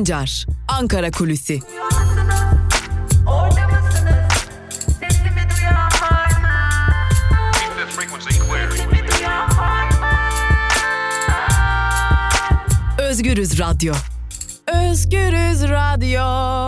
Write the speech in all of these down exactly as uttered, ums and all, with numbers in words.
Sancar, Ankara Kulüsi. Özgürüz Radyo. Özgürüz Radyo.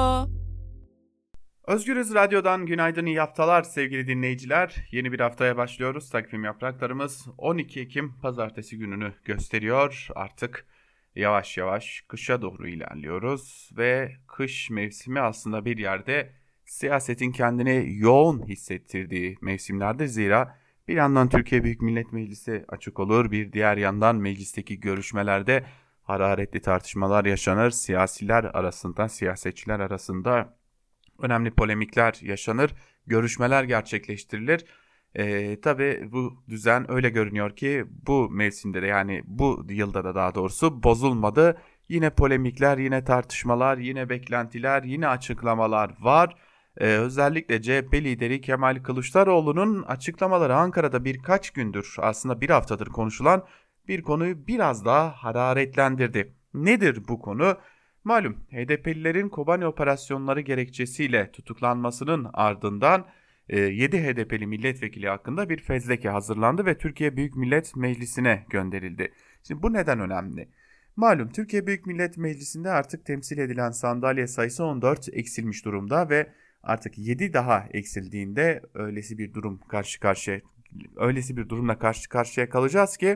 Özgürüz Radyo'dan günaydın, iyi haftalar sevgili dinleyiciler. Yeni bir haftaya başlıyoruz. Takvim yapraklarımız on iki Ekim Pazartesi gününü gösteriyor. Artık yavaş yavaş kışa doğru ilerliyoruz ve kış mevsimi aslında bir yerde siyasetin kendini yoğun hissettirdiği mevsimlerdir. Zira bir yandan Türkiye Büyük Millet Meclisi açık olur, bir diğer yandan meclisteki görüşmelerde hararetli tartışmalar yaşanır. Siyasiler arasında, siyasetçiler arasında önemli polemikler yaşanır, görüşmeler gerçekleştirilir. Ee, tabii bu düzen öyle görünüyor ki bu mevsimde de, yani bu yılda da daha doğrusu bozulmadı. Yine polemikler, yine tartışmalar, yine beklentiler, yine açıklamalar var. Ee, özellikle C H P lideri Kemal Kılıçdaroğlu'nun açıklamaları Ankara'da birkaç gündür, aslında bir haftadır konuşulan bir konuyu biraz daha hararetlendirdi. Nedir bu konu? Malum H D P'lilerin Kobani operasyonları gerekçesiyle tutuklanmasının ardından yedi H D P'li milletvekili hakkında bir fezleke hazırlandı ve Türkiye Büyük Millet Meclisi'ne gönderildi. Şimdi bu neden önemli? Malum Türkiye Büyük Millet Meclisi'nde artık temsil edilen sandalye sayısı on dört eksilmiş durumda ve artık yedi daha eksildiğinde öylesi bir durum karşı karşıya öylesi bir durumla karşı karşıya kalacağız ki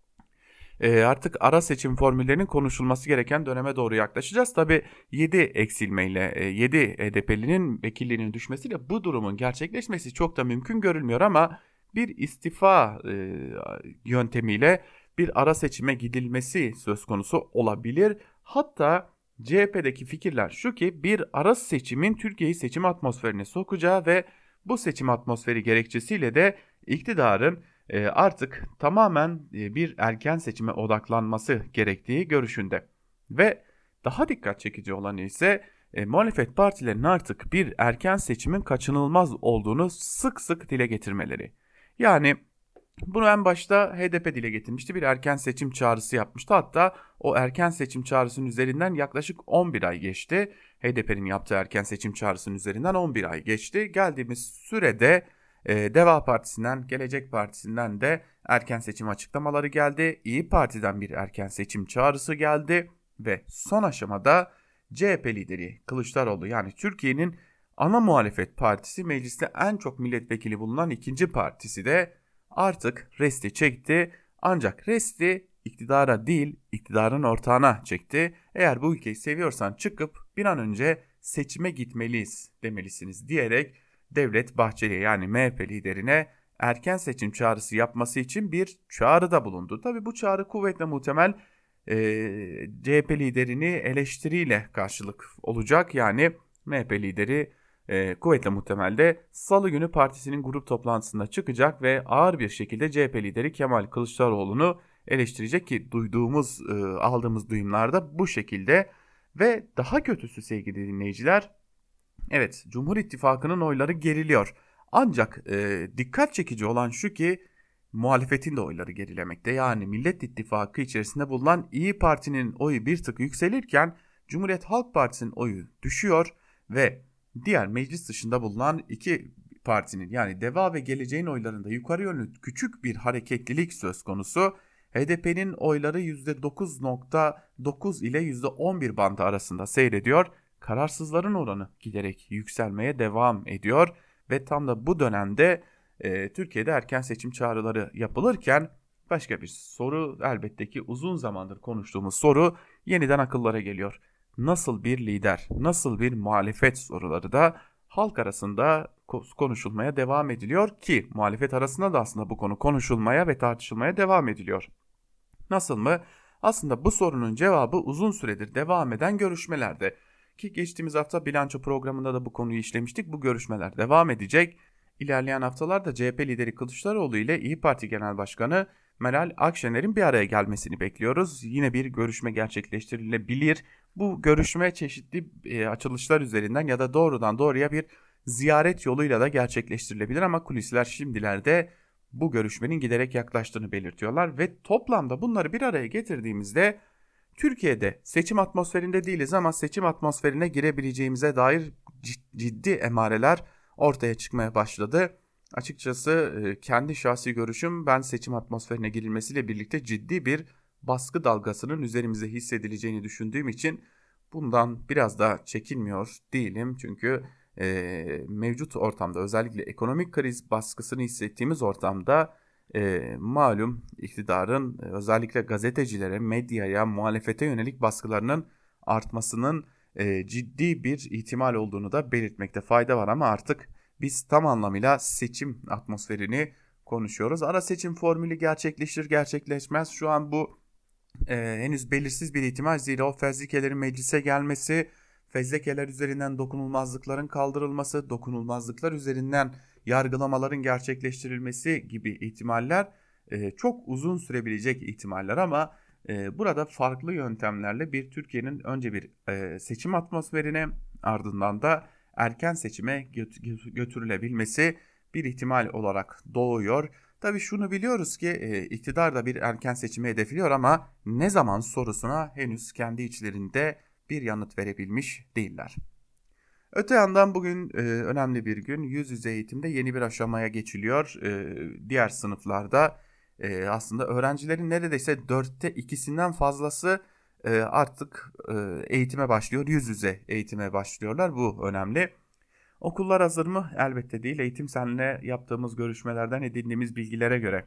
artık ara seçim formüllerinin konuşulması gereken döneme doğru yaklaşacağız. Tabii yedi eksilmeyle, yedi H D P'linin vekilliğinin düşmesiyle bu durumun gerçekleşmesi çok da mümkün görülmüyor ama bir istifa yöntemiyle bir ara seçime gidilmesi söz konusu olabilir. Hatta C H P'deki fikirler şu ki bir ara seçimin Türkiye'yi seçim atmosferine sokacağı ve bu seçim atmosferi gerekçesiyle de iktidarın artık tamamen bir erken seçime odaklanması gerektiği görüşünde. Ve daha dikkat çekici olan ise e, muhalefet partilerinin artık bir erken seçimin kaçınılmaz olduğunu sık sık dile getirmeleri. Yani bunu en başta H D P dile getirmişti, bir erken seçim çağrısı yapmıştı. Hatta o erken seçim çağrısının üzerinden yaklaşık on bir ay geçti. H D P'nin yaptığı erken seçim çağrısının üzerinden on bir ay geçti. Geldiğimiz sürede Ee, Deva Partisi'nden, Gelecek Partisi'nden de erken seçim açıklamaları geldi. İyi Parti'den bir erken seçim çağrısı geldi ve son aşamada C H P lideri Kılıçdaroğlu, yani Türkiye'nin ana muhalefet partisi, mecliste en çok milletvekili bulunan ikinci partisi de artık resti çekti. Ancak resti iktidara değil, iktidarın ortağına çekti. Eğer bu ülkeyi seviyorsan çıkıp bir an önce seçime gitmeliyiz demelisiniz diyerek Devlet Bahçeli, yani M H P liderine erken seçim çağrısı yapması için bir çağrıda bulundu. Tabii bu çağrı kuvvetle muhtemel e, C H P liderini eleştiriyle karşılık olacak. Yani M H P lideri e, kuvvetle muhtemelde Salı günü partisinin grup toplantısında çıkacak ve ağır bir şekilde C H P lideri Kemal Kılıçdaroğlu'nu eleştirecek ki duyduğumuz, e, aldığımız duyumlarda bu şekilde. Ve daha kötüsü sevgili dinleyiciler, evet, Cumhur İttifakı'nın oyları geriliyor. Ancak e, dikkat çekici olan şu ki muhalefetin de oyları gerilemekte. Yani Millet İttifakı içerisinde bulunan İyi Parti'nin oyu bir tık yükselirken Cumhuriyet Halk Partisi'nin oyu düşüyor ve diğer meclis dışında bulunan iki partinin, yani Deva ve Geleceğin oylarında yukarı yönlü küçük bir hareketlilik söz konusu. H D P'nin oyları yüzde dokuz nokta dokuz ile yüzde on bir bandı arasında seyrediyor. Kararsızların oranı giderek yükselmeye devam ediyor ve tam da bu dönemde e, Türkiye'de erken seçim çağrıları yapılırken başka bir soru, elbette ki uzun zamandır konuştuğumuz soru yeniden akıllara geliyor. Nasıl bir lider, nasıl bir muhalefet soruları da halk arasında konuşulmaya devam ediliyor ki muhalefet arasında da aslında bu konu konuşulmaya ve tartışılmaya devam ediliyor. Nasıl mı? Aslında bu sorunun cevabı uzun süredir devam eden görüşmelerde. Ki geçtiğimiz hafta bilanço programında da bu konuyu işlemiştik. Bu görüşmeler devam edecek. İlerleyen haftalarda C H P lideri Kılıçdaroğlu ile İyi Parti Genel Başkanı Meral Akşener'in bir araya gelmesini bekliyoruz. Yine bir görüşme gerçekleştirilebilir. Bu görüşme çeşitli e, açılışlar üzerinden ya da doğrudan doğruya bir ziyaret yoluyla da gerçekleştirilebilir ama kulisler şimdilerde bu görüşmenin giderek yaklaştığını belirtiyorlar ve toplamda bunları bir araya getirdiğimizde Türkiye'de seçim atmosferinde değiliz ama seçim atmosferine girebileceğimize dair ciddi emareler ortaya çıkmaya başladı. Açıkçası kendi şahsi görüşüm, ben seçim atmosferine girilmesiyle birlikte ciddi bir baskı dalgasının üzerimize hissedileceğini düşündüğüm için bundan biraz da çekinmiyor değilim. Çünkü e, mevcut ortamda, özellikle ekonomik kriz baskısını hissettiğimiz ortamda e, malum iktidarın özellikle gazetecilere, medyaya, muhalefete yönelik baskılarının artmasının e, ciddi bir ihtimal olduğunu da belirtmekte fayda var. Ama artık biz tam anlamıyla seçim atmosferini konuşuyoruz. Ara seçim formülü gerçekleşir gerçekleşmez şu an bu e, henüz belirsiz bir ihtimal. Zira o fezlekelerin meclise gelmesi, fezlekeler üzerinden dokunulmazlıkların kaldırılması, dokunulmazlıklar üzerinden yargılamaların gerçekleştirilmesi gibi ihtimaller e, çok uzun sürebilecek ihtimaller. Ama e, burada farklı yöntemlerle bir Türkiye'nin önce bir e, seçim atmosferine, ardından da erken seçime götürülebilmesi bir ihtimal olarak doğuyor. Tabii şunu biliyoruz ki e, iktidar da bir erken seçimi hedefliyor ama ne zaman sorusuna henüz kendi içlerinde bir yanıt verebilmiş değiller. Öte yandan bugün e, önemli bir gün. Yüz yüze eğitimde yeni bir aşamaya geçiliyor. E, diğer sınıflarda e, aslında öğrencilerin neredeyse dörtte ikisinden fazlası e, artık e, eğitime başlıyor. Yüz yüze eğitime başlıyorlar. Bu önemli. Okullar hazır mı? Elbette değil. Eğitim Sen'le yaptığımız görüşmelerden edindiğimiz bilgilere göre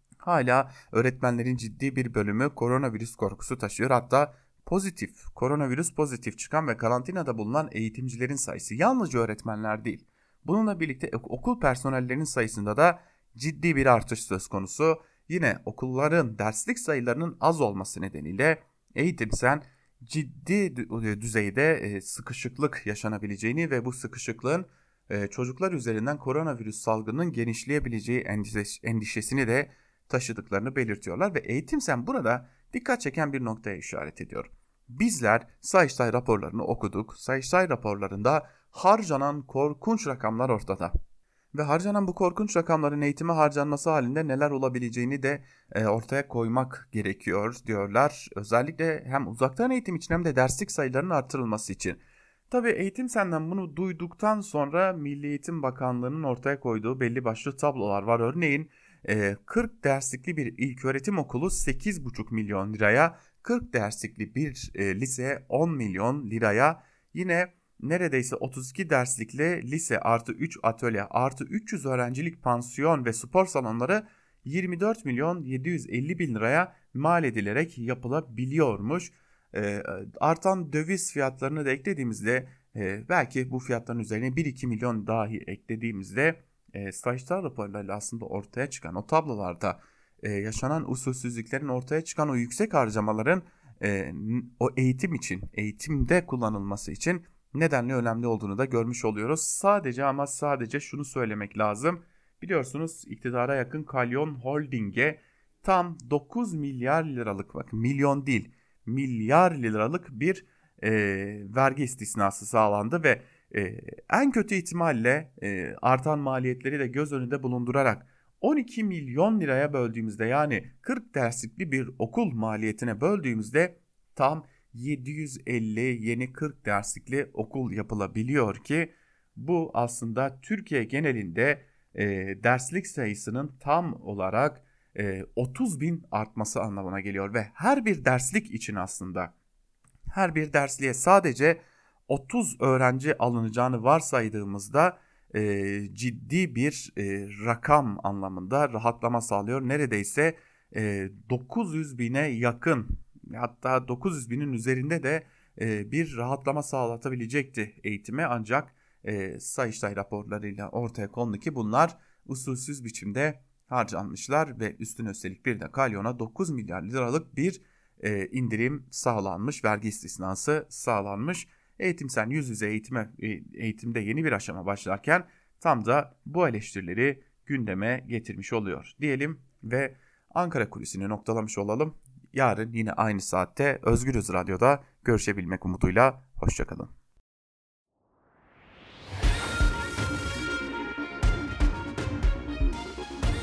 hala öğretmenlerin ciddi bir bölümü koronavirüs korkusu taşıyor. Hatta pozitif, koronavirüs pozitif çıkan ve karantinada bulunan eğitimcilerin sayısı yalnızca öğretmenler değil. Bununla birlikte okul personellerinin sayısında da ciddi bir artış söz konusu. Yine okulların derslik sayılarının az olması nedeniyle Eğitim Sen ciddi düzeyde sıkışıklık yaşanabileceğini ve bu sıkışıklığın çocuklar üzerinden koronavirüs salgınının genişleyebileceği endişesini de taşıdıklarını belirtiyorlar ve Eğitim Sen burada dikkat çeken bir noktaya işaret ediyor. Bizler Sayıştay raporlarını okuduk. Sayıştay raporlarında harcanan korkunç rakamlar ortada. Ve harcanan bu korkunç rakamların eğitime harcanması halinde neler olabileceğini de e, ortaya koymak gerekiyor diyorlar. Özellikle hem uzaktan eğitim için hem de derslik sayılarının artırılması için. Tabii Eğitim Sen'den bunu duyduktan sonra Milli Eğitim Bakanlığı'nın ortaya koyduğu belli başlı tablolar var. Örneğin e, kırk derslikli bir ilköğretim okulu sekiz buçuk milyon liraya, kırk derslikli bir e, lise on milyon liraya, yine neredeyse otuz iki derslikli lise artı üç atölye artı üç yüz öğrencilik pansiyon ve spor salonları yirmi dört milyon yedi yüz elli bin liraya mal edilerek yapılabiliyormuş. E, artan döviz fiyatlarını da eklediğimizde e, belki bu fiyatların üzerine bir iki milyon dahi eklediğimizde e, Sayıştay raporlarıyla aslında ortaya çıkan o tablolarda e, yaşanan usulsüzlüklerin, ortaya çıkan o yüksek harcamaların e, o eğitim için, eğitimde kullanılması için nedenli önemli olduğunu da görmüş oluyoruz. Sadece ama sadece şunu söylemek lazım. Biliyorsunuz iktidara yakın Kalyon Holding'e tam dokuz milyar liralık, bak milyon değil milyar liralık bir e, vergi istisnası sağlandı ve e, en kötü ihtimalle e, artan maliyetleri de göz önünde bulundurarak on iki milyon liraya böldüğümüzde, yani kırk derslikli bir okul maliyetine böldüğümüzde tam yedi yüz elli yeni kırk derslikli okul yapılabiliyor ki bu aslında Türkiye genelinde e, derslik sayısının tam olarak e, otuz bin artması anlamına geliyor ve her bir derslik için aslında her bir dersliğe sadece otuz öğrenci alınacağını varsaydığımızda e, ciddi bir e, rakam anlamında rahatlama sağlıyor. Neredeyse e, dokuz yüz bine yakın, hatta dokuz yüz binin üzerinde de e, bir rahatlama sağlatabilecekti eğitime, ancak e, Sayıştay raporlarıyla ortaya kondu ki bunlar usulsüz biçimde harcanmışlar ve üstüne üstelik bir de Kalyon'a dokuz milyar liralık bir e, indirim sağlanmış, vergi istisnası sağlanmış. Eğitim Sen yüz yüze eğitime, eğitimde yeni bir aşama başlarken tam da bu eleştirileri gündeme getirmiş oluyor diyelim ve Ankara Kulisi'ni noktalamış olalım. Yarın yine aynı saatte Özgürüz Radyo'da görüşebilmek umuduyla hoşçakalın.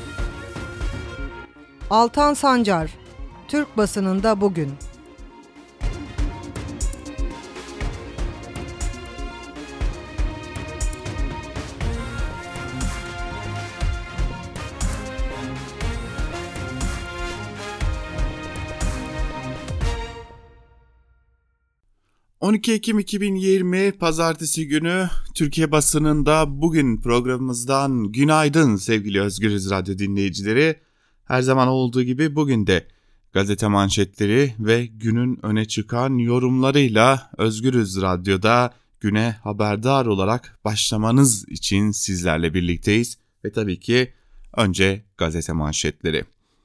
Altan Sancar, Türk basınında bugün. on iki Ekim iki bin yirmi Pazartesi günü Türkiye basınında bugün programımızdan günaydın sevgili Özgürüz Radyo dinleyicileri. Her zaman olduğu gibi bugün de gazete manşetleri ve günün öne çıkan yorumlarıyla Özgürüz Radyo'da güne haberdar olarak başlamanız için sizlerle birlikteyiz. Ve tabii ki önce gazete manşetleri.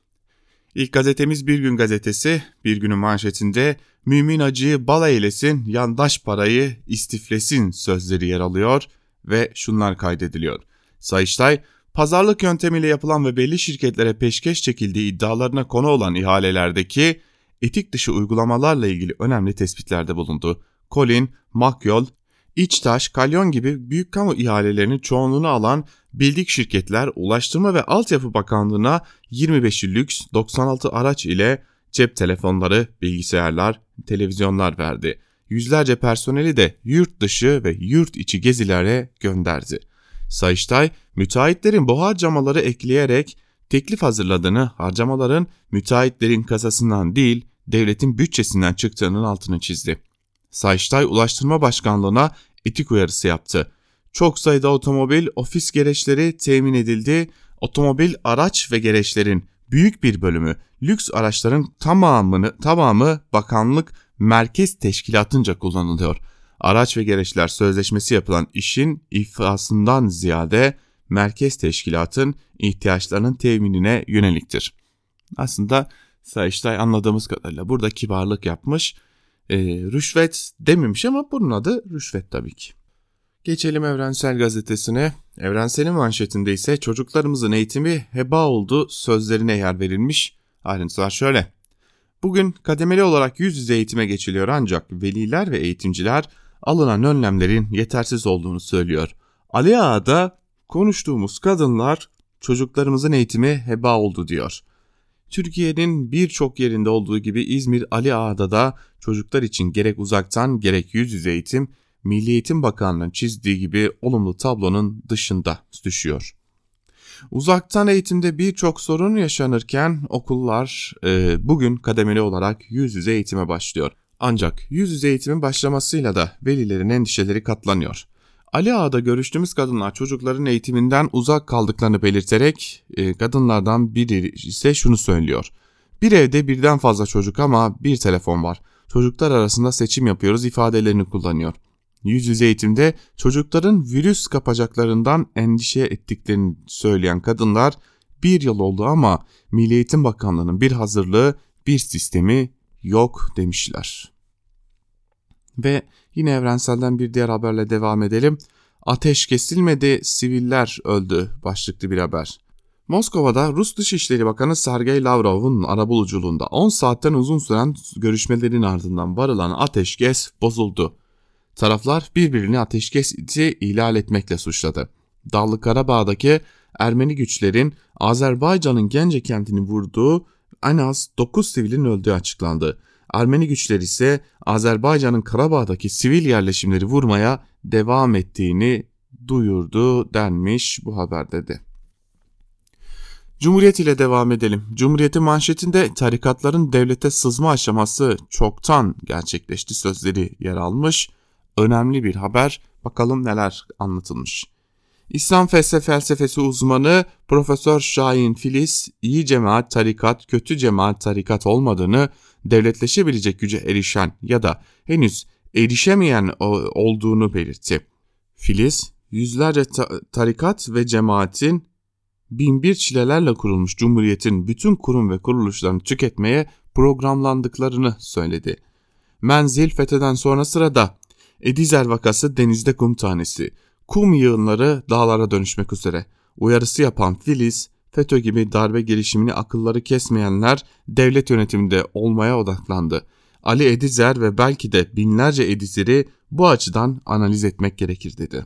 İlk gazetemiz Bir Gün gazetesi. Bir Gün'ün manşetinde "Mümin acıyı bal eylesin, yandaş parayı istiflesin" sözleri yer alıyor ve şunlar kaydediliyor. Sayıştay, pazarlık yöntemiyle yapılan ve belli şirketlere peşkeş çekildiği iddialarına konu olan ihalelerdeki etik dışı uygulamalarla ilgili önemli tespitlerde bulundu. Colin, Makyol, İçtaş, Kalyon gibi büyük kamu ihalelerinin çoğunluğunu alan bildik şirketler Ulaştırma ve Altyapı Bakanlığı'na yirmi beşi lüks doksan altı araç ile cep telefonları, bilgisayarlar, televizyonlar verdi. Yüzlerce personeli de yurt dışı ve yurt içi gezilere gönderdi. Sayıştay, müteahhitlerin bu harcamaları ekleyerek teklif hazırladığını, harcamaların müteahhitlerin kasasından değil devletin bütçesinden çıktığının altını çizdi. Sayıştay, Ulaştırma Başkanlığı'na etik uyarısı yaptı. Çok sayıda otomobil, ofis gereçleri temin edildi. Otomobil, araç ve gereçlerin büyük bir bölümü, lüks araçların tamamını tamamı bakanlık merkez teşkilatınca kullanılıyor. Araç ve gereçler sözleşmesi yapılan işin iflasından ziyade merkez teşkilatın ihtiyaçlarının teminine yöneliktir. Aslında Sayıştay anladığımız kadarıyla burada kibarlık yapmış. E, rüşvet dememiş ama bunun adı rüşvet tabii ki. Geçelim Evrensel Gazetesi'ne. Evrensel'in manşetinde ise çocuklarımızın eğitimi heba oldu sözlerine yer verilmiş. Ayrıntılar şöyle. Bugün kademeli olarak yüz yüze eğitime geçiliyor ancak veliler ve eğitimciler alınan önlemlerin yetersiz olduğunu söylüyor. Ali Ağa'da konuştuğumuz kadınlar çocuklarımızın eğitimi heba oldu diyor. Türkiye'nin birçok yerinde olduğu gibi İzmir Ali Ağa'da da çocuklar için gerek uzaktan gerek yüz yüze eğitim Milli Eğitim Bakanlığı'nın çizdiği gibi olumlu tablonun dışında düşüyor. Uzaktan eğitimde birçok sorun yaşanırken okullar e, bugün kademeli olarak yüz yüze eğitime başlıyor. Ancak yüz yüze eğitimin başlamasıyla da velilerin endişeleri katlanıyor. Ali Ağa'da görüştüğümüz kadınlar çocukların eğitiminden uzak kaldıklarını belirterek e, kadınlardan biri ise şunu söylüyor. Bir evde birden fazla çocuk ama bir telefon var. Çocuklar arasında seçim yapıyoruz ifadelerini kullanıyor. Yüz yüze eğitimde çocukların virüs kapacaklarından endişe ettiklerini söyleyen kadınlar bir yıl oldu ama Milli Eğitim Bakanlığı'nın bir hazırlığı, bir sistemi yok demişler. Ve yine Evrensel'den bir diğer haberle devam edelim. Ateş kesilmedi, siviller öldü başlıklı bir haber. Moskova'da Rus Dışişleri Bakanı Sergey Lavrov'un arabuluculuğunda on saatten uzun süren görüşmelerin ardından varılan ateşkes bozuldu. Taraflar birbirini ateşkesi ihlal etmekle suçladı. Dağlı Karabağ'daki Ermeni güçlerin Azerbaycan'ın Gence kentini vurduğu en az dokuz sivilin öldüğü açıklandı. Ermeni güçler ise Azerbaycan'ın Karabağ'daki sivil yerleşimleri vurmaya devam ettiğini duyurdu denmiş bu haberde de. Cumhuriyet ile devam edelim. Cumhuriyet'in manşetinde tarikatların devlete sızma aşaması çoktan gerçekleşti sözleri yer almış. Önemli bir haber. Bakalım neler anlatılmış. İslam felsefesi uzmanı Profesör Şahin Filiz, iyi cemaat tarikat, kötü cemaat tarikat olmadığını, devletleşebilecek güce erişen ya da henüz erişemeyen olduğunu belirtti. Filiz, yüzlerce ta- tarikat ve cemaatin binbir çilelerle kurulmuş Cumhuriyet'in bütün kurum ve kuruluşlarını tüketmeye programlandıklarını söyledi. Menzil F E T O'dan sonra sırada Edizer vakası denizde kum tanesi, kum yığınları dağlara dönüşmek üzere. Uyarısı yapan Filiz, F E T Ö gibi darbe girişimini akılları kesmeyenler devlet yönetiminde olmaya odaklandı. Ali Edizer ve belki de binlerce Edizer'i bu açıdan analiz etmek gerekir dedi.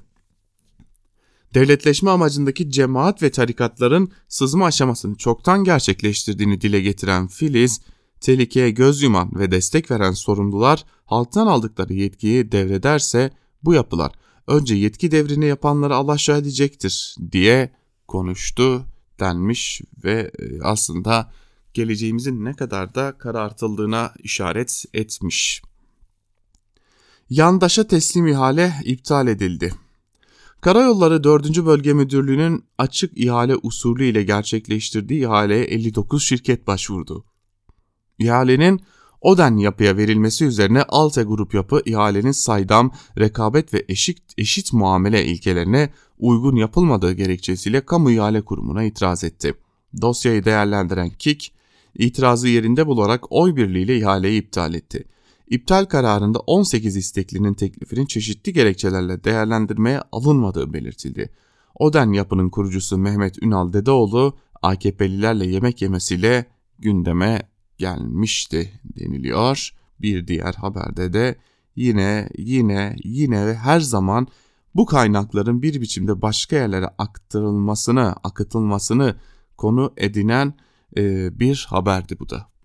Devletleşme amacındaki cemaat ve tarikatların sızma aşamasını çoktan gerçekleştirdiğini dile getiren Filiz, tehlikeye göz yuman ve destek veren sorumlular halktan aldıkları yetkiyi devrederse bu yapılar önce yetki devrini yapanları alaşağı edecektir diye konuştu denmiş ve aslında geleceğimizin ne kadar da karartıldığına işaret etmiş. Yandaşa teslim ihale iptal edildi. Karayolları dördüncü Bölge Müdürlüğü'nün açık ihale usulü ile gerçekleştirdiği ihaleye elli dokuz şirket başvurdu. İhalenin Oden Yapı'ya verilmesi üzerine Alte Grup Yapı ihalenin saydam, rekabet ve eşit, eşit muamele ilkelerine uygun yapılmadığı gerekçesiyle Kamu İhale Kurumu'na itiraz etti. Dosyayı değerlendiren K İ K, itirazı yerinde bularak oy birliğiyle ihaleyi iptal etti. İptal kararında on sekiz isteklinin teklifinin çeşitli gerekçelerle değerlendirmeye alınmadığı belirtildi. Oden Yapı'nın kurucusu Mehmet Ünal Dedeoğlu, A K P'lilerle yemek yemesiyle gündeme gelmişti deniliyor. Bir diğer haberde de yine yine yine ve her zaman bu kaynakların bir biçimde başka yerlere aktarılmasını, akıtılmasını konu edinen e, bir haberdi bu da.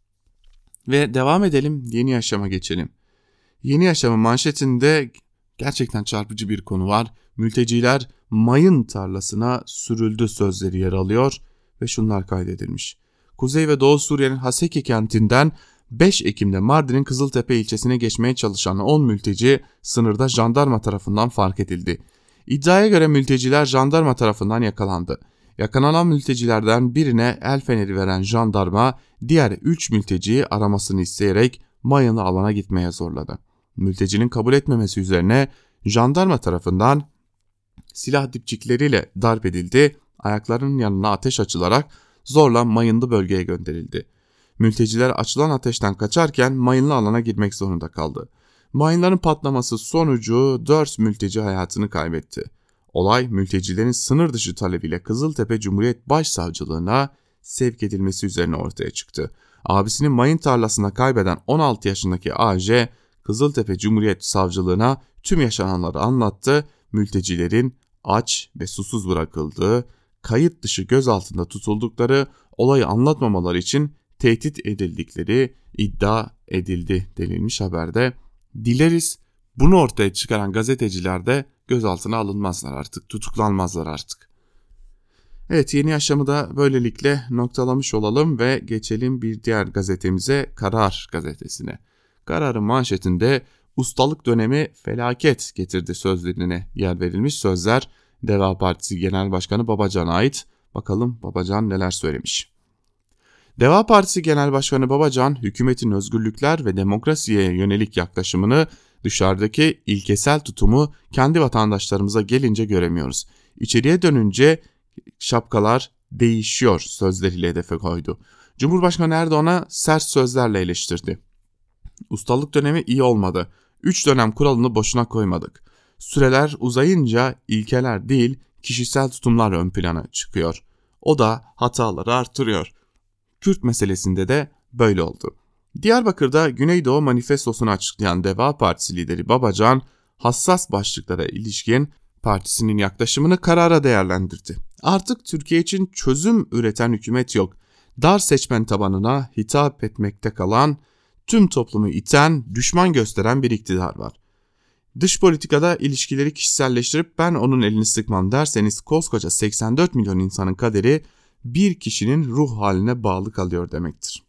Ve devam edelim, Yeni Yaşam'a geçelim. Yeni Yaşam'ın manşetinde gerçekten çarpıcı bir konu var. Mülteciler mayın tarlasına sürüldü sözleri yer alıyor ve şunlar kaydedilmiş. Kuzey ve Doğu Suriye'nin Haseki kentinden beş Ekim'de Mardin'in Kızıltepe ilçesine geçmeye çalışan on mülteci sınırda jandarma tarafından fark edildi. İddiaya göre mülteciler jandarma tarafından yakalandı. Yakalanan mültecilerden birine el feneri veren jandarma diğer üç mülteciyi aramasını isteyerek mayınlı alana gitmeye zorladı. Mültecinin kabul etmemesi üzerine jandarma tarafından silah dipçikleriyle darp edildi, ayaklarının yanına ateş açılarak zorla mayınlı bölgeye gönderildi. Mülteciler açılan ateşten kaçarken mayınlı alana girmek zorunda kaldı. Mayınların patlaması sonucu dört mülteci hayatını kaybetti. Olay mültecilerin sınır dışı talebiyle Kızıltepe Cumhuriyet Başsavcılığına sevk edilmesi üzerine ortaya çıktı. Abisini mayın tarlasında kaybeden on altı yaşındaki A J, Kızıltepe Cumhuriyet Savcılığına tüm yaşananları anlattı. Mültecilerin aç ve susuz bırakıldığı, kayıt dışı gözaltında tutuldukları, olayı anlatmamaları için tehdit edildikleri iddia edildi denilmiş haberde. Dileriz bunu ortaya çıkaran gazeteciler de gözaltına alınmazlar artık, tutuklanmazlar artık. Evet, Yeni Yaşam'ı da böylelikle noktalamış olalım ve geçelim bir diğer gazetemize, Karar gazetesine. Karar'ın manşetinde ustalık dönemi felaket getirdi sözlerine yer verilmiş. Sözler Deva Partisi Genel Başkanı Babacan'a ait. Bakalım Babacan neler söylemiş. Deva Partisi Genel Başkanı Babacan, hükümetin özgürlükler ve demokrasiye yönelik yaklaşımını, dışarıdaki ilkesel tutumu kendi vatandaşlarımıza gelince göremiyoruz. İçeriye dönünce şapkalar değişiyor sözleriyle hedefe koydu. Cumhurbaşkanı Erdoğan'a sert sözlerle eleştirdi. Ustalık dönemi iyi olmadı. Üç dönem kuralını boşuna koymadık. Süreler uzayınca ilkeler değil, kişisel tutumlar ön plana çıkıyor. O da hataları artırıyor. Kürt meselesinde de böyle oldu. Diyarbakır'da Güneydoğu Manifestosunu açıklayan Deva Partisi lideri Babacan, hassas başlıklara ilişkin partisinin yaklaşımını Karar'a değerlendirdi. Artık Türkiye için çözüm üreten hükümet yok. Dar seçmen tabanına hitap etmekte kalan, tüm toplumu iten, düşman gösteren bir iktidar var. Dış politikada ilişkileri kişiselleştirip ben onun elini sıkmam derseniz koskoca seksen dört milyon insanın kaderi bir kişinin ruh haline bağlı kalıyor demektir.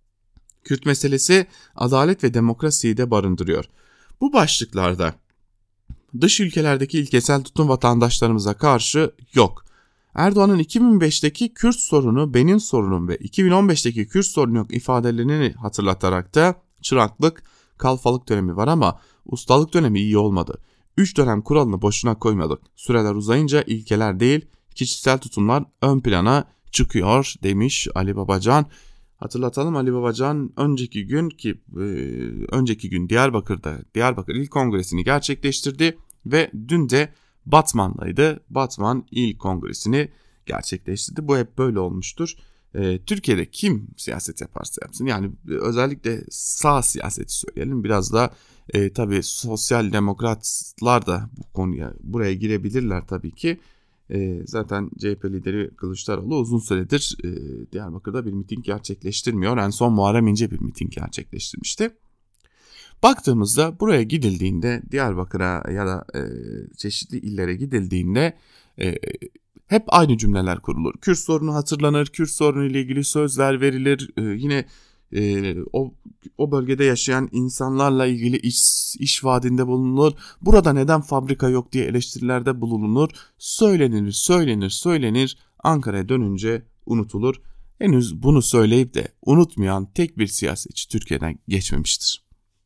Kürt meselesi adalet ve demokrasiyi de barındırıyor. Bu başlıklarda dış ülkelerdeki ilkesel tutum vatandaşlarımıza karşı yok. Erdoğan'ın iki bin beşteki Kürt sorunu benim sorunum ve iki bin on beşteki Kürt sorunu yok ifadelerini hatırlatarak da çıraklık, kalfalık dönemi var ama ustalık dönemi iyi olmadı. Üç dönem kuralını boşuna koymadık. Süreler uzayınca ilkeler değil, kişisel tutumlar ön plana çıkıyor demiş Ali Babacan. Hatırlatalım, Ali Babacan önceki gün ki e, önceki gün Diyarbakır'da Diyarbakır İl Kongresi'ni gerçekleştirdi ve dün de Batman'daydı. Batman İl Kongresi'ni gerçekleştirdi. Bu hep böyle olmuştur. E, Türkiye'de kim siyaset yaparsa yapsın, yani özellikle sağ siyaseti söyleyelim, biraz da e, tabii sosyal demokratlar da bu konuya buraya girebilirler tabii ki. E, zaten C H P lideri Kılıçdaroğlu uzun süredir e, Diyarbakır'da bir miting gerçekleştirmiyor. En son Muharrem İnce bir miting gerçekleştirmişti. Baktığımızda buraya gidildiğinde, Diyarbakır'a ya da e, çeşitli illere gidildiğinde e, hep aynı cümleler kurulur. Kürt sorunu hatırlanır, Kürt sorunu ile ilgili sözler verilir. E, yine e, o o bölgede yaşayan insanlarla ilgili iş, iş vaadinde bulunur. Burada neden fabrika yok diye eleştirilerde bulunur. Söylenir, söylenir, söylenir. Ankara'ya dönünce unutulur. Henüz bunu söyleyip de unutmayan tek bir siyasetçi Türkiye'den geçmemiştir.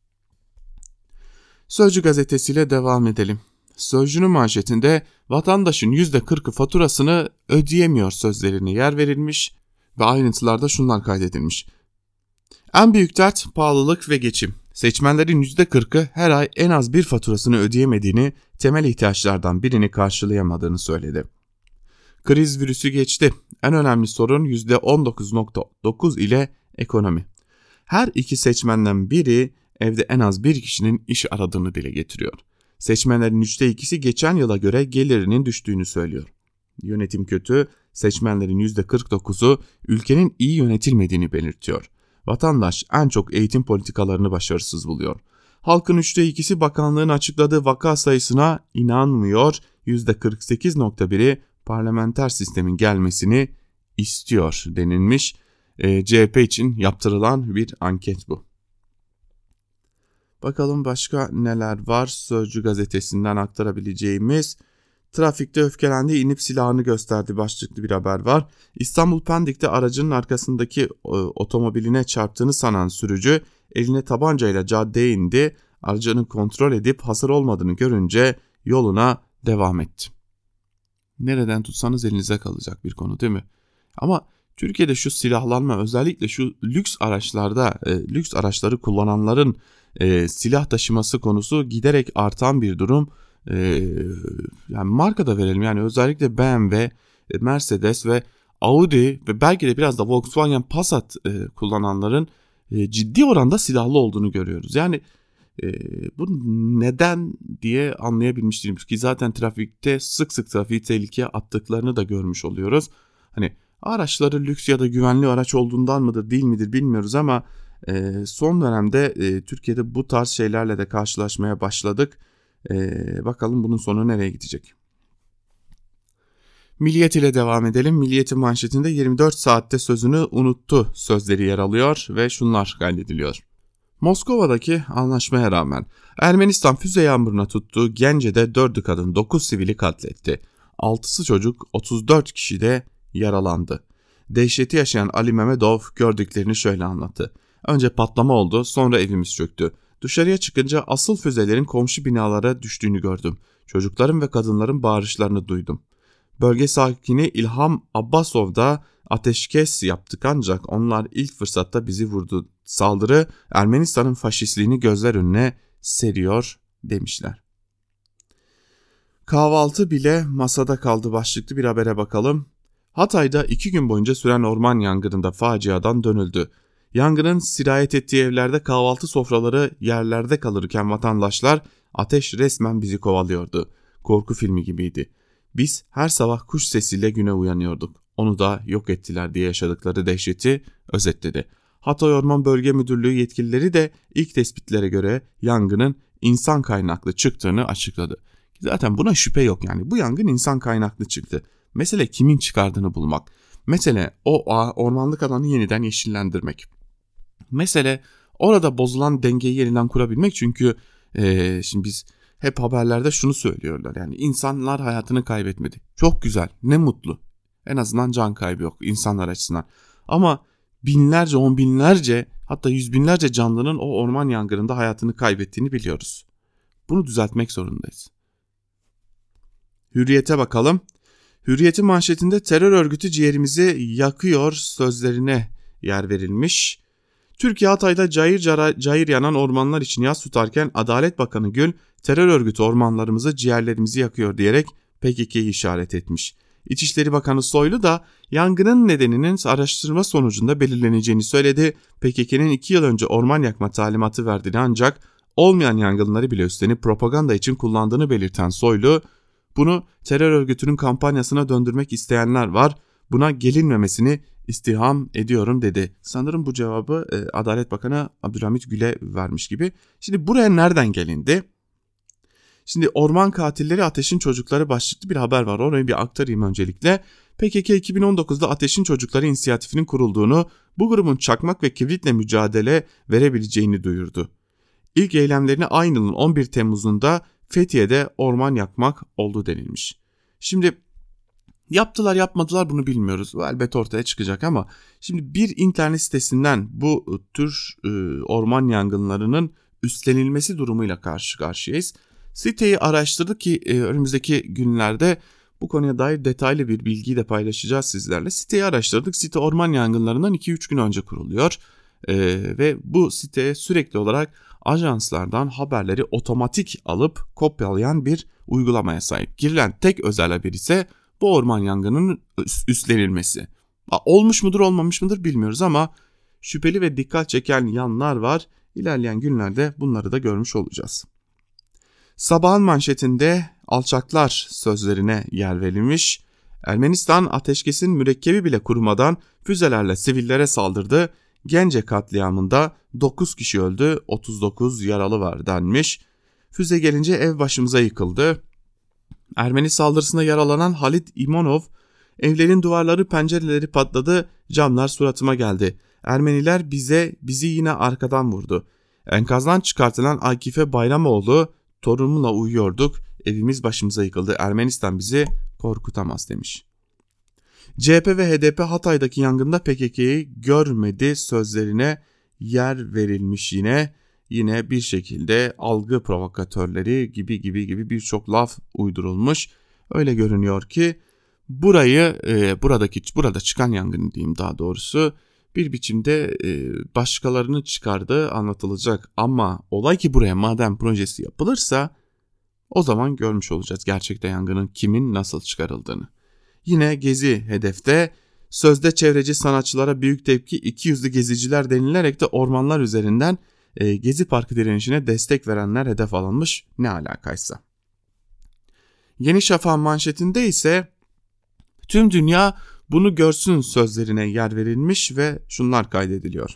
Sözcü gazetesiyle devam edelim. Sözcünün manşetinde vatandaşın yüzde kırkı faturasını ödeyemiyor sözlerine yer verilmiş ve ayrıntılarda şunlar kaydedilmiş. En büyük dert pahalılık ve geçim. Seçmenlerin yüzde kırkı her ay en az bir faturasını ödeyemediğini, temel ihtiyaçlardan birini karşılayamadığını söyledi. Kriz virüsü geçti. En önemli sorun yüzde on dokuz virgül dokuz ile ekonomi. Her iki seçmenden biri evde en az bir kişinin iş aradığını dile getiriyor. Seçmenlerin üçte ikisi geçen yıla göre gelirinin düştüğünü söylüyor. Yönetim kötü, seçmenlerin yüzde kırk dokuzu ülkenin iyi yönetilmediğini belirtiyor. Vatandaş en çok eğitim politikalarını başarısız buluyor. Halkın üçte ikisi bakanlığın açıkladığı vaka sayısına inanmıyor, yüzde kırk sekiz virgül biri parlamenter sistemin gelmesini istiyor denilmiş. E, C H P için yaptırılan bir anket bu. Bakalım başka neler var Sözcü gazetesinden aktarabileceğimiz. Trafikte öfkelendi, inip silahını gösterdi başlıklı bir haber var. İstanbul Pendik'te aracının arkasındaki e, otomobiline çarptığını sanan sürücü eline tabancayla caddeye indi. Aracını kontrol edip hasar olmadığını görünce yoluna devam etti. Nereden tutsanız elinize kalacak bir konu değil mi? Ama Türkiye'de şu silahlanma, özellikle şu lüks araçlarda, e, lüks araçları kullananların e, silah taşıması konusu giderek artan bir durum. E, yani marka da verelim, yani özellikle B M W, Mercedes ve Audi ve belki de biraz da Volkswagen Passat e, kullananların e, ciddi oranda silahlı olduğunu görüyoruz. Yani e, bu neden diye anlayabilmiş değilim ki zaten trafikte sık sık trafiği tehlikeye attıklarını da görmüş oluyoruz. Hani araçları lüks ya da güvenli araç olduğundan mıdır değil midir bilmiyoruz ama e, son dönemde e, Türkiye'de bu tarz şeylerle de karşılaşmaya başladık. E, bakalım bunun sonu nereye gidecek? Milliyet ile devam edelim. Milliyet'in manşetinde yirmi dört saatte sözünü unuttu sözleri yer alıyor ve şunlar kaydediliyor. Moskova'daki anlaşmaya rağmen Ermenistan füze yağmuruna tuttuğu Gence'de dördü kadın dokuz sivili katletti. altısı çocuk, otuz dört kişi de yaralandı. Dehşeti yaşayan Ali Mehmetov gördüklerini şöyle anlattı. Önce patlama oldu, sonra evimiz çöktü. Dışarıya çıkınca asıl füzelerin komşu binalara düştüğünü gördüm. Çocukların ve kadınların bağırışlarını duydum. Bölge sakini İlham Abbasov da ateşkes yaptık ancak onlar ilk fırsatta bizi vurdu. Saldırı Ermenistan'ın faşistliğini gözler önüne seriyor demişler. Kahvaltı bile masada kaldı başlıklı bir habere bakalım. Hatay'da iki gün boyunca süren orman yangınında faciadan dönüldü. Yangının sirayet ettiği evlerde kahvaltı sofraları yerlerde kalırken vatandaşlar ateş resmen bizi kovalıyordu. Korku filmi gibiydi. Biz her sabah kuş sesiyle güne uyanıyorduk. Onu da yok ettiler diye yaşadıkları dehşeti özetledi. Hatay Orman Bölge Müdürlüğü yetkilileri de ilk tespitlere göre yangının insan kaynaklı çıktığını açıkladı. Zaten buna şüphe yok, yani bu yangın insan kaynaklı çıktı. Mesele kimin çıkardığını bulmak. Mesele o ormanlık alanı yeniden yeşillendirmek. Mesele orada bozulan dengeyi yeniden kurabilmek, çünkü ee, şimdi biz hep haberlerde şunu söylüyorlar, yani insanlar hayatını kaybetmedi. Çok güzel, ne mutlu. En azından can kaybı yok insanlar açısından. Ama binlerce, on binlerce, hatta yüz binlerce canlının o orman yangınında hayatını kaybettiğini biliyoruz. Bunu düzeltmek zorundayız. Hürriyet'e bakalım. Hürriyet'in manşetinde terör örgütü ciğerimizi yakıyor sözlerine yer verilmiş. Türkiye Hatay'da cayır cayır yanan ormanlar için yas tutarken Adalet Bakanı Gül, terör örgütü ormanlarımızı, ciğerlerimizi yakıyor diyerek P K K'yi işaret etmiş. İçişleri Bakanı Soylu da yangının nedeninin araştırma sonucunda belirleneceğini söyledi. P K K'nin iki yıl önce orman yakma talimatı verdiğini ancak olmayan yangınları bile üstlenip propaganda için kullandığını belirten Soylu, bunu terör örgütünün kampanyasına döndürmek isteyenler var, buna gelinmemesini istirham ediyorum dedi. Sanırım bu cevabı e, Adalet Bakanı Abdülhamit Gül'e vermiş gibi. Şimdi buraya nereden gelindi? Şimdi orman katilleri ateşin çocukları başlıklı bir haber var. Orayı bir aktarayım öncelikle. P K K iki bin on dokuzda Ateşin Çocukları İnisiyatifinin kurulduğunu, bu grubun çakmak ve kibritle mücadele verebileceğini duyurdu. İlk eylemlerini aynı yılın on bir Temmuz'unda Fethiye'de orman yakmak oldu denilmiş. Şimdi yaptılar yapmadılar bunu bilmiyoruz. Bu elbet ortaya çıkacak ama şimdi bir internet sitesinden bu tür e, orman yangınlarının üstlenilmesi durumuyla karşı karşıyayız. Siteyi araştırdık ki e, önümüzdeki günlerde bu konuya dair detaylı bir bilgiyi de paylaşacağız sizlerle. Siteyi araştırdık. Site orman yangınlarından iki üç gün önce kuruluyor e, ve bu siteye sürekli olarak ajanslardan haberleri otomatik alıp kopyalayan bir uygulamaya sahip. Girilen tek özel haber ise bu orman yangınının üstlenilmesi. Olmuş mudur olmamış mıdır bilmiyoruz ama şüpheli ve dikkat çeken yanlar var. İlerleyen günlerde bunları da görmüş olacağız. Sabahın manşetinde alçaklar sözlerine yer verilmiş. Ermenistan ateşkesin mürekkebi bile kurumadan füzelerle sivillere saldırdı. Gence katliamında dokuz kişi öldü, otuz dokuz yaralı var denmiş. Füze gelince ev başımıza yıkıldı. Ermeni saldırısında yaralanan Halit İmonov, evlerin duvarları pencereleri patladı, camlar suratıma geldi. Ermeniler bize bizi yine arkadan vurdu. Enkazdan çıkartılan Akife Bayramoğlu, torunumla uyuyorduk, evimiz başımıza yıkıldı, Ermenistan bizi korkutamaz demiş. C H P ve H D P Hatay'daki yangında P K K'yi görmedi sözlerine yer verilmiş yine. Yine bir şekilde algı provokatörleri gibi gibi gibi birçok laf uydurulmuş. Öyle görünüyor ki burayı e, buradaki burada çıkan yangın diyeyim daha doğrusu bir biçimde e, başkalarının çıkardığı anlatılacak. Ama olay ki buraya maden projesi yapılırsa o zaman görmüş olacağız gerçekte yangının kimin nasıl çıkarıldığını. Yine Gezi hedefte, sözde çevreci sanatçılara büyük tepki, iki yüzlü geziciler denilerek de ormanlar üzerinden e, Gezi Parkı direnişine destek verenler hedef alınmış, ne alakaysa. Yeni Şafak'ın manşetinde ise tüm dünya bunu görsün sözlerine yer verilmiş ve şunlar kaydediliyor.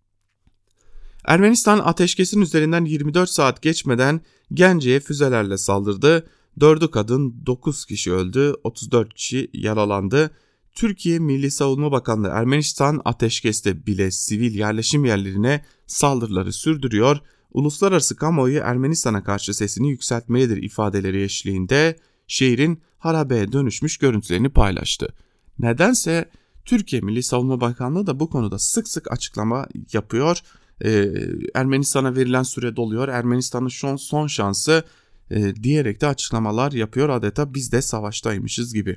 Ermenistan ateşkesin üzerinden yirmi dört saat geçmeden Gence'ye füzelerle saldırdı. dördü kadın, dokuz kişi öldü, otuz dört kişi yaralandı. Türkiye Milli Savunma Bakanlığı Ermenistan ateşkeste bile sivil yerleşim yerlerine saldırıları sürdürüyor. Uluslararası kamuoyu Ermenistan'a karşı sesini yükseltmelidir ifadeleri eşliğinde şehrin harabeye dönüşmüş görüntülerini paylaştı. Nedense Türkiye Milli Savunma Bakanlığı da bu konuda sık sık açıklama yapıyor. Ee, Ermenistan'a verilen süre doluyor. Ermenistan'ın son, son şansı e, diyerek de açıklamalar yapıyor. Adeta biz de savaştaymışız gibi.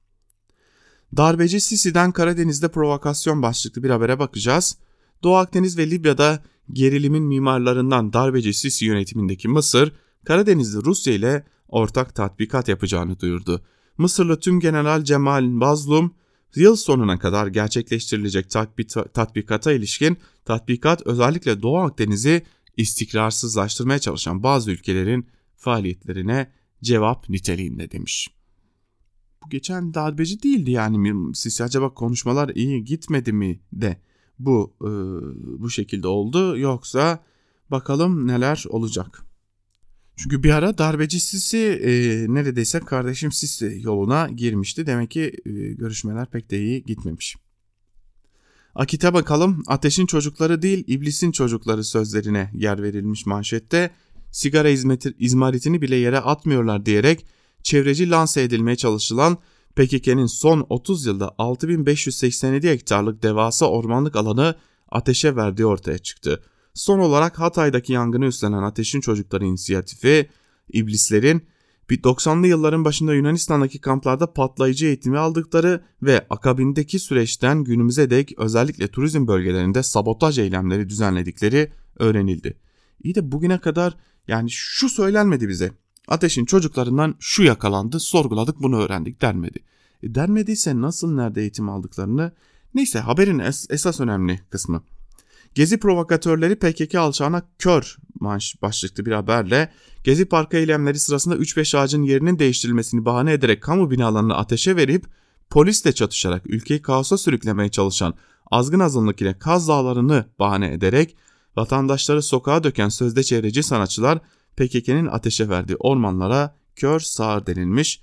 Darbeci Sisi'den Karadeniz'de provokasyon başlıklı bir habere bakacağız. Doğu Akdeniz ve Libya'da gerilimin mimarlarından darbeci Sisi yönetimindeki Mısır, Karadeniz'de Rusya ile ortak tatbikat yapacağını duyurdu. Mısırlı Tümgeneral Cemal Bazlum, yıl sonuna kadar gerçekleştirilecek tatbikata ilişkin tatbikat özellikle Doğu Akdeniz'i istikrarsızlaştırmaya çalışan bazı ülkelerin faaliyetlerine cevap niteliğinde demiş. Bu geçen darbeci değildi yani Sisi, acaba konuşmalar iyi gitmedi mi de bu e, bu şekilde oldu, yoksa bakalım neler olacak. Çünkü bir ara darbeci Sisi e, neredeyse kardeşim Sisi yoluna girmişti. Demek ki e, görüşmeler pek de iyi gitmemiş. Akit'e bakalım. Ateşin çocukları değil iblisin çocukları sözlerine yer verilmiş manşette. Sigara hizmeti, izmaritini bile yere atmıyorlar diyerek çevreci lanse edilmeye çalışılan P K K'nin son otuz yılda altı bin beş yüz seksen yedi hektarlık devasa ormanlık alanı ateşe verdiği ortaya çıktı. Son olarak Hatay'daki yangını üstlenen Ateşin Çocukları İnisiyatifi, iblislerin doksanlı yılların başında Yunanistan'daki kamplarda patlayıcı eğitimi aldıkları ve akabindeki süreçten günümüze dek özellikle turizm bölgelerinde sabotaj eylemleri düzenledikleri öğrenildi. İyi de bugüne kadar yani şu söylenmedi bize. Ateşin çocuklarından şu yakalandı, sorguladık, bunu öğrendik denmedi. E denmediyse nasıl, nerede eğitim aldıklarını? Neyse, haberin es- esas önemli kısmı. Gezi provokatörleri P K K alçağına kör başlıklı bir haberle Gezi Parkı eylemleri sırasında üç beş ağacın yerinin değiştirilmesini bahane ederek kamu binalarını ateşe verip polisle çatışarak ülkeyi kaosa sürüklemeye çalışan azgın azınlık ile Kaz Dağları'nı bahane ederek vatandaşları sokağa döken sözde çevreci sanatçılar P K K'nin ateşe verdiği ormanlara kör sağır denilmiş.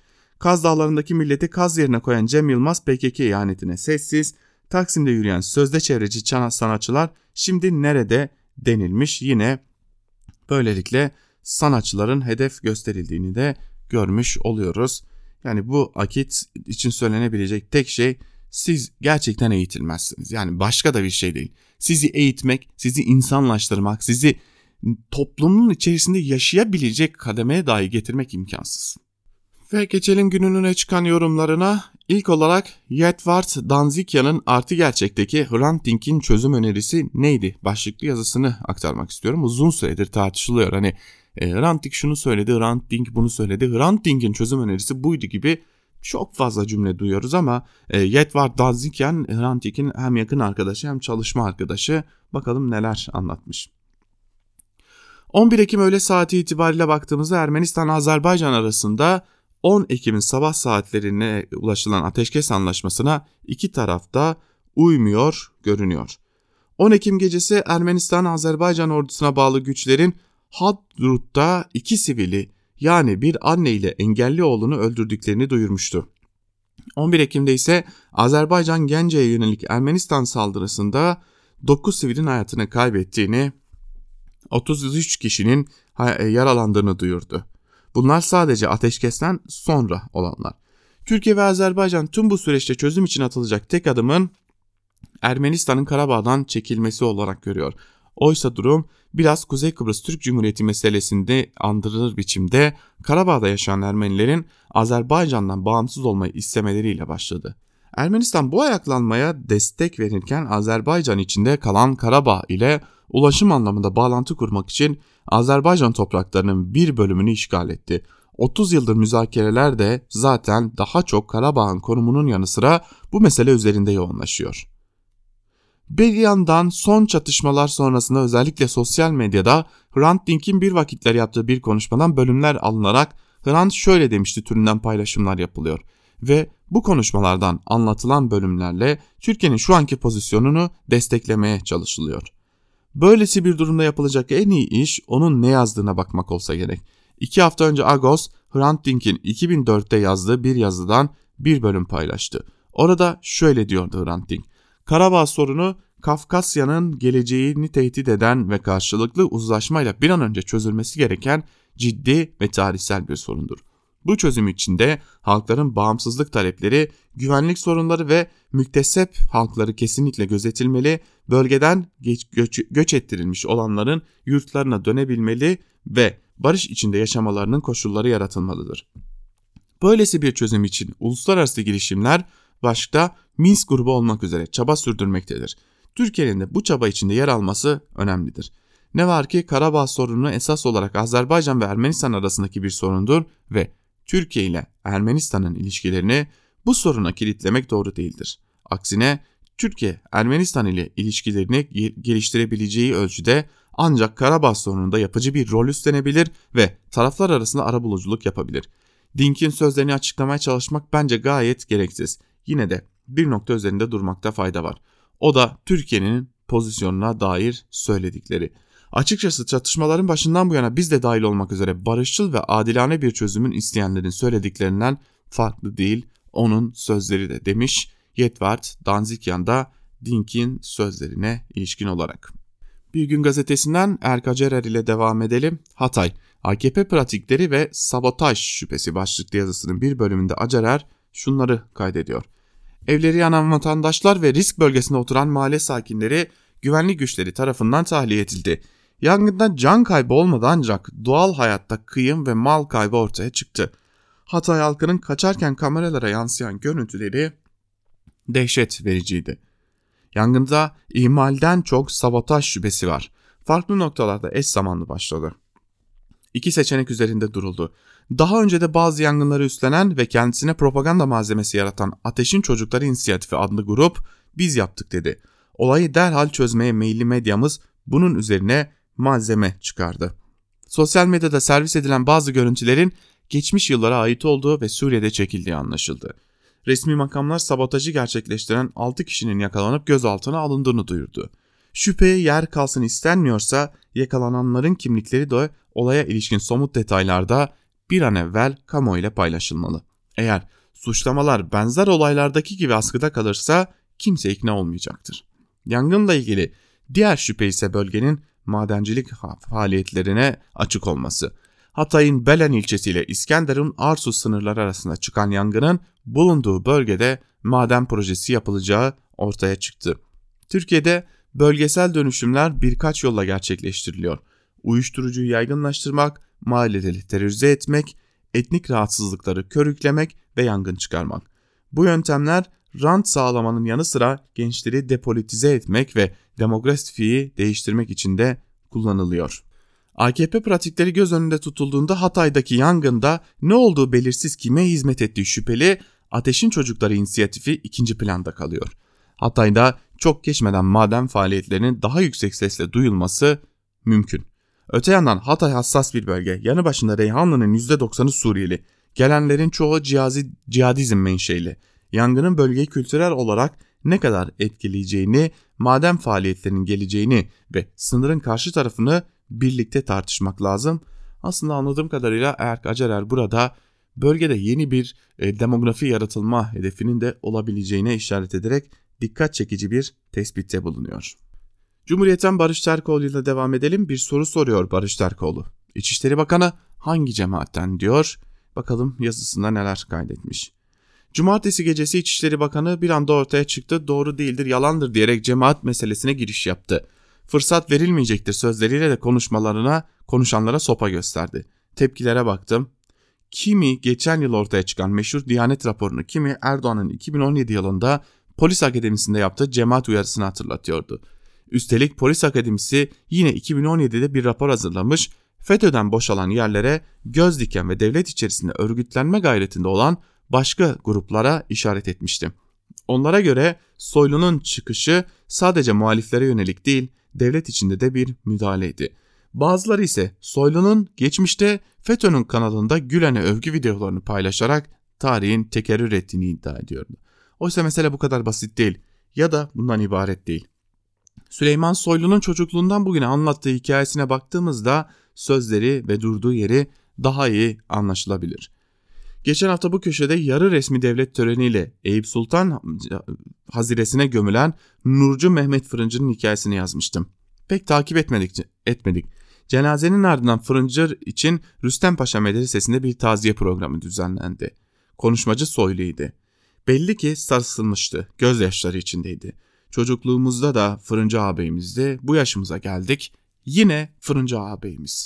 Kaz Dağları'ndaki milleti kaz yerine koyan Cem Yılmaz P K K ihanetine sessiz. Taksim'de yürüyen sözde çevreci sanatçılar şimdi nerede denilmiş. Yine böylelikle sanatçıların hedef gösterildiğini de görmüş oluyoruz. Yani bu akit için söylenebilecek tek şey, siz gerçekten eğitilmezsiniz. Yani başka da bir şey değil. Sizi eğitmek, sizi insanlaştırmak, sizi toplumun içerisinde yaşayabilecek kademeye dahi getirmek imkansız. Ve geçelim günün öne çıkan yorumlarına. İlk olarak Yetvar Danzikyan'ın Artı Gerçek'teki Hrant Dink'in çözüm önerisi neydi başlıklı yazısını aktarmak istiyorum. Uzun süredir tartışılıyor. Hani e, Hrant Dink şunu söyledi, Hrant Dink bunu söyledi. Hrant Dink'in çözüm önerisi buydu gibi çok fazla cümle duyuyoruz ama e, Yetvar Danzikyan Hrant Dink'in hem yakın arkadaşı hem çalışma arkadaşı. Bakalım neler anlatmış. on bir Ekim öğle saati itibariyle baktığımızda Ermenistan-Azerbaycan arasında on Ekim'in sabah saatlerine ulaşılan ateşkes anlaşmasına iki taraf da uymuyor görünüyor. on Ekim gecesi Ermenistan-Azerbaycan ordusuna bağlı güçlerin Hadrut'ta iki sivili, yani bir anne ile engelli oğlunu öldürdüklerini duyurmuştu. on bir Ekim'de ise Azerbaycan Gence'ye yönelik Ermenistan saldırısında dokuz sivilin hayatını kaybettiğini, otuz üç kişinin yaralandığını duyurdu. Bunlar sadece ateşkesten sonra olanlar. Türkiye ve Azerbaycan tüm bu süreçte çözüm için atılacak tek adımın Ermenistan'ın Karabağ'dan çekilmesi olarak görüyor. Oysa durum biraz Kuzey Kıbrıs Türk Cumhuriyeti meselesinde andırılır biçimde Karabağ'da yaşayan Ermenilerin Azerbaycan'dan bağımsız olmayı istemeleriyle başladı. Ermenistan bu ayaklanmaya destek verirken Azerbaycan içinde kalan Karabağ ile ulaşım anlamında bağlantı kurmak için Azerbaycan topraklarının bir bölümünü işgal etti. otuz yıldır müzakereler de zaten daha çok Karabağ'ın konumunun yanı sıra bu mesele üzerinde yoğunlaşıyor. Bir yandan son çatışmalar sonrasında özellikle sosyal medyada Hrant Dink'in bir vakitler yaptığı bir konuşmadan bölümler alınarak Hrant şöyle demişti türünden paylaşımlar yapılıyor. Ve bu konuşmalardan anlatılan bölümlerle Türkiye'nin şu anki pozisyonunu desteklemeye çalışılıyor. Böylesi bir durumda yapılacak en iyi iş onun ne yazdığına bakmak olsa gerek. İki hafta önce Agos, Hrant Dink'in iki bin dörtte yazdığı bir yazıdan bir bölüm paylaştı. Orada şöyle diyordu Hrant Dink: Karabağ sorunu Kafkasya'nın geleceğini tehdit eden ve karşılıklı uzlaşmayla bir an önce çözülmesi gereken ciddi ve tarihsel bir sorundur. Bu çözüm içinde halkların bağımsızlık talepleri, güvenlik sorunları ve müktesep halkları kesinlikle gözetilmeli, bölgeden geç, göç, göç ettirilmiş olanların yurtlarına dönebilmeli ve barış içinde yaşamalarının koşulları yaratılmalıdır. Böylesi bir çözüm için uluslararası girişimler başta Minsk grubu olmak üzere çaba sürdürmektedir. Türkiye'nin de bu çaba içinde yer alması önemlidir. Ne var ki Karabağ sorunu esas olarak Azerbaycan ve Ermenistan arasındaki bir sorundur ve Türkiye ile Ermenistan'ın ilişkilerini bu soruna kilitlemek doğru değildir. Aksine Türkiye Ermenistan ile ilişkilerini geliştirebileceği ölçüde ancak Karabağ sorununda yapıcı bir rol üstlenebilir ve taraflar arasında arabuluculuk yapabilir. Dink'in sözlerini açıklamaya çalışmak bence gayet gereksiz. Yine de bir nokta üzerinde durmakta fayda var. O da Türkiye'nin pozisyonuna dair söyledikleri. Açıkçası çatışmaların başından bu yana biz de dahil olmak üzere barışçıl ve adilane bir çözümün isteyenlerin söylediklerinden farklı değil onun sözleri de demiş Yetvar Danzikyan da Dink'in sözlerine ilişkin olarak. Bir Gün Gazetesi'nden Erka Cerer ile devam edelim. Hatay, A K P pratikleri ve sabotaj şüphesi başlıklı yazısının bir bölümünde Acerer şunları kaydediyor. Evleri yanan vatandaşlar ve risk bölgesinde oturan mahalle sakinleri güvenlik güçleri tarafından tahliye edildi. Yangında can kaybı olmadı ancak doğal hayatta kıyım ve mal kaybı ortaya çıktı. Hatay halkının kaçarken kameralara yansıyan görüntüleri dehşet vericiydi. Yangında ihmalden çok sabotaj şüphesi var. Farklı noktalarda eş zamanlı başladı. İki seçenek üzerinde duruldu. Daha önce de bazı yangınları üstlenen ve kendisine propaganda malzemesi yaratan Ateşin Çocukları İnisiyatifi adlı grup biz yaptık dedi. Olayı derhal çözmeye meyilli medyamız bunun üzerine malzeme çıkardı. Sosyal medyada servis edilen bazı görüntülerin geçmiş yıllara ait olduğu ve Suriye'de çekildiği anlaşıldı. Resmi makamlar sabotajı gerçekleştiren altı kişinin yakalanıp gözaltına alındığını duyurdu. Şüpheye yer kalsın istenmiyorsa yakalananların kimlikleri de olaya ilişkin somut detaylarda bir an evvel kamuoyuyla paylaşılmalı. Eğer suçlamalar benzer olaylardaki gibi askıda kalırsa kimse ikna olmayacaktır. Yangınla ilgili diğer şüphe ise bölgenin madencilik faaliyetlerine açık olması. Hatay'ın Belen ilçesiyle İskenderun Arsus sınırları arasında çıkan yangının bulunduğu bölgede maden projesi yapılacağı ortaya çıktı. Türkiye'de bölgesel dönüşümler birkaç yolla gerçekleştiriliyor. Uyuşturucuyu yaygınlaştırmak, mahalleleri terörize etmek, etnik rahatsızlıkları körüklemek ve yangın çıkarmak. Bu yöntemler rant sağlamanın yanı sıra gençleri depolitize etmek ve demografiyi değiştirmek için de kullanılıyor. A K P pratikleri göz önünde tutulduğunda Hatay'daki yangında ne olduğu belirsiz kime hizmet ettiği şüpheli Ateşin Çocukları inisiyatifi ikinci planda kalıyor. Hatay'da çok geçmeden maden faaliyetlerinin daha yüksek sesle duyulması mümkün. Öte yandan Hatay hassas bir bölge. Yanı başında Reyhanlı'nın yüzde doksanı Suriyeli. Gelenlerin çoğu cihazi, cihadizm menşeli. Yangının bölgeyi kültürel olarak ne kadar etkileyeceğini, maden faaliyetlerinin geleceğini ve sınırın karşı tarafını birlikte tartışmak lazım. Aslında anladığım kadarıyla Erk Acerer burada bölgede yeni bir e, demografi yaratılma hedefinin de olabileceğine işaret ederek dikkat çekici bir tespitte bulunuyor. Cumhuriyet'ten Barış Terkoğlu ile devam edelim. Bir soru soruyor Barış Terkoğlu. İçişleri Bakanı hangi cemaatten diyor? Bakalım yazısında neler kaydetmiş. Cumartesi gecesi İçişleri Bakanı bir anda ortaya çıktı, doğru değildir, yalandır diyerek cemaat meselesine giriş yaptı. Fırsat verilmeyecektir sözleriyle de konuşmalarına, konuşanlara sopa gösterdi. Tepkilere baktım. Kimi geçen yıl ortaya çıkan meşhur Diyanet raporunu, kimi Erdoğan'ın iki bin on yedi yılında Polis Akademisi'nde yaptığı cemaat uyarısını hatırlatıyordu. Üstelik Polis Akademisi yine iki bin on yedide bir rapor hazırlamış, FETÖ'den boşalan yerlere göz diken ve devlet içerisinde örgütlenme gayretinde olan başka gruplara işaret etmişti. Onlara göre Soylu'nun çıkışı sadece muhaliflere yönelik değil, devlet içinde de bir müdahaleydi. Bazıları ise Soylu'nun geçmişte FETÖ'nün kanalında Gülen'e övgü videolarını paylaşarak tarihin tekerrür ettiğini iddia ediyordu. Oysa mesele bu kadar basit değil ya da bundan ibaret değil. Süleyman Soylu'nun çocukluğundan bugüne anlattığı hikayesine baktığımızda sözleri ve durduğu yeri daha iyi anlaşılabilir. Geçen hafta bu köşede yarı resmi devlet töreniyle Eyüp Sultan haziresine gömülen Nurcu Mehmet Fırıncı'nın hikayesini yazmıştım. Pek takip etmedik. etmedik. Cenazenin ardından Fırıncı için Rüstempaşa Medresesi'nde bir taziye programı düzenlendi. Konuşmacı Soylu'ydu. Belli ki sarsılmıştı, gözyaşları içindeydi. Çocukluğumuzda da Fırıncı ağabeyimizdi, bu yaşımıza geldik, yine Fırıncı ağabeyimiz.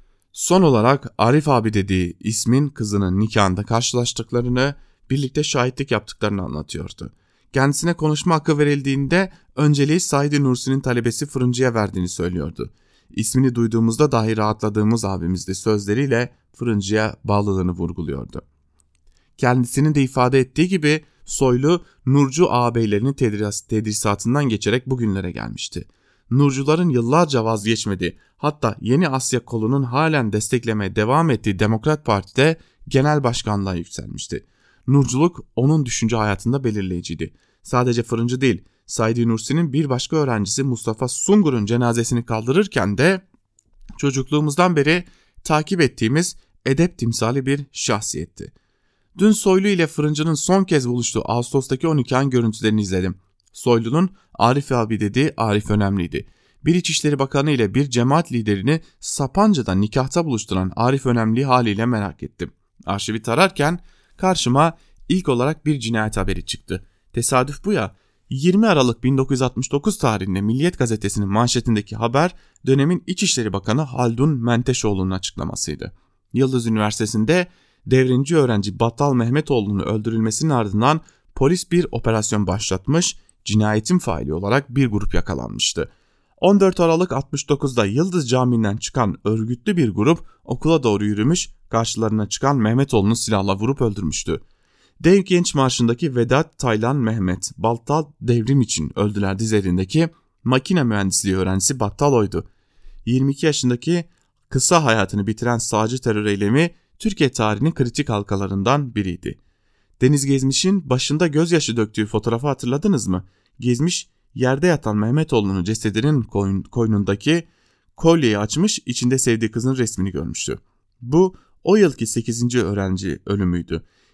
Son olarak Arif abi dediği ismin kızının nikahında karşılaştıklarını, birlikte şahitlik yaptıklarını anlatıyordu. Kendisine konuşma hakkı verildiğinde önceliği Said Nursi'nin talebesi Fırıncı'ya verdiğini söylüyordu. İsmini duyduğumuzda dahi rahatladığımız abimizdi sözleriyle Fırıncı'ya bağlılığını vurguluyordu. Kendisinin de ifade ettiği gibi Soylu, Nurcu ağabeylerinin tedris, tedrisatından geçerek bugünlere gelmişti. Nurcuların yıllarca vazgeçmediği, hatta Yeni Asya kolunun halen desteklemeye devam ettiği Demokrat Parti'de genel başkanlığa yükselmişti. Nurculuk onun düşünce hayatında belirleyiciydi. Sadece Fırıncı değil, Said Nursi'nin bir başka öğrencisi Mustafa Sungur'un cenazesini kaldırırken de çocukluğumuzdan beri takip ettiğimiz edep timsali bir şahsiyetti. Dün Soylu ile Fırıncı'nın son kez buluştuğu Ağustos'taki o nikahın görüntülerini izledim. Soylu'nun Arif abi dediği Arif önemliydi. Bir İçişleri Bakanı ile bir cemaat liderini Sapanca'da nikahta buluşturan Arif önemli haliyle merak ettim. Arşivi tararken karşıma ilk olarak bir cinayet haberi çıktı. Tesadüf bu ya. yirmi Aralık bin dokuz yüz altmış dokuz tarihinde Milliyet Gazetesi'nin manşetindeki haber dönemin İçişleri Bakanı Haldun Menteşoğlu'nun açıklamasıydı. Yıldız Üniversitesi'nde devrimci öğrenci Battal Mehmetoğlu'nun öldürülmesinin ardından polis bir operasyon başlatmış, cinayetin faili olarak bir grup yakalanmıştı. on dört Aralık altmış dokuzda Yıldız Camii'nden çıkan örgütlü bir grup okula doğru yürümüş, karşılarına çıkan Mehmetoğlu'nu silahla vurup öldürmüştü. Dev Genç Marşı'ndaki Vedat, Taylan, Mehmet, Battal devrim için öldüler dizlerindeki makine mühendisliği öğrencisi Battal oydu. yirmi iki yaşındaki kısa hayatını bitiren sağcı terör eylemi Türkiye tarihinin kritik halkalarından biriydi. Deniz Gezmiş'in başında gözyaşı döktüğü fotoğrafı hatırladınız mı? Gezmiş yerde yatan Mehmetoğlu'nun cesedinin koyn, koynundaki kolyeyi açmış, içinde sevdiği kızın resmini görmüştü. Bu o yılki sekizinci öğrenci ölümüydü.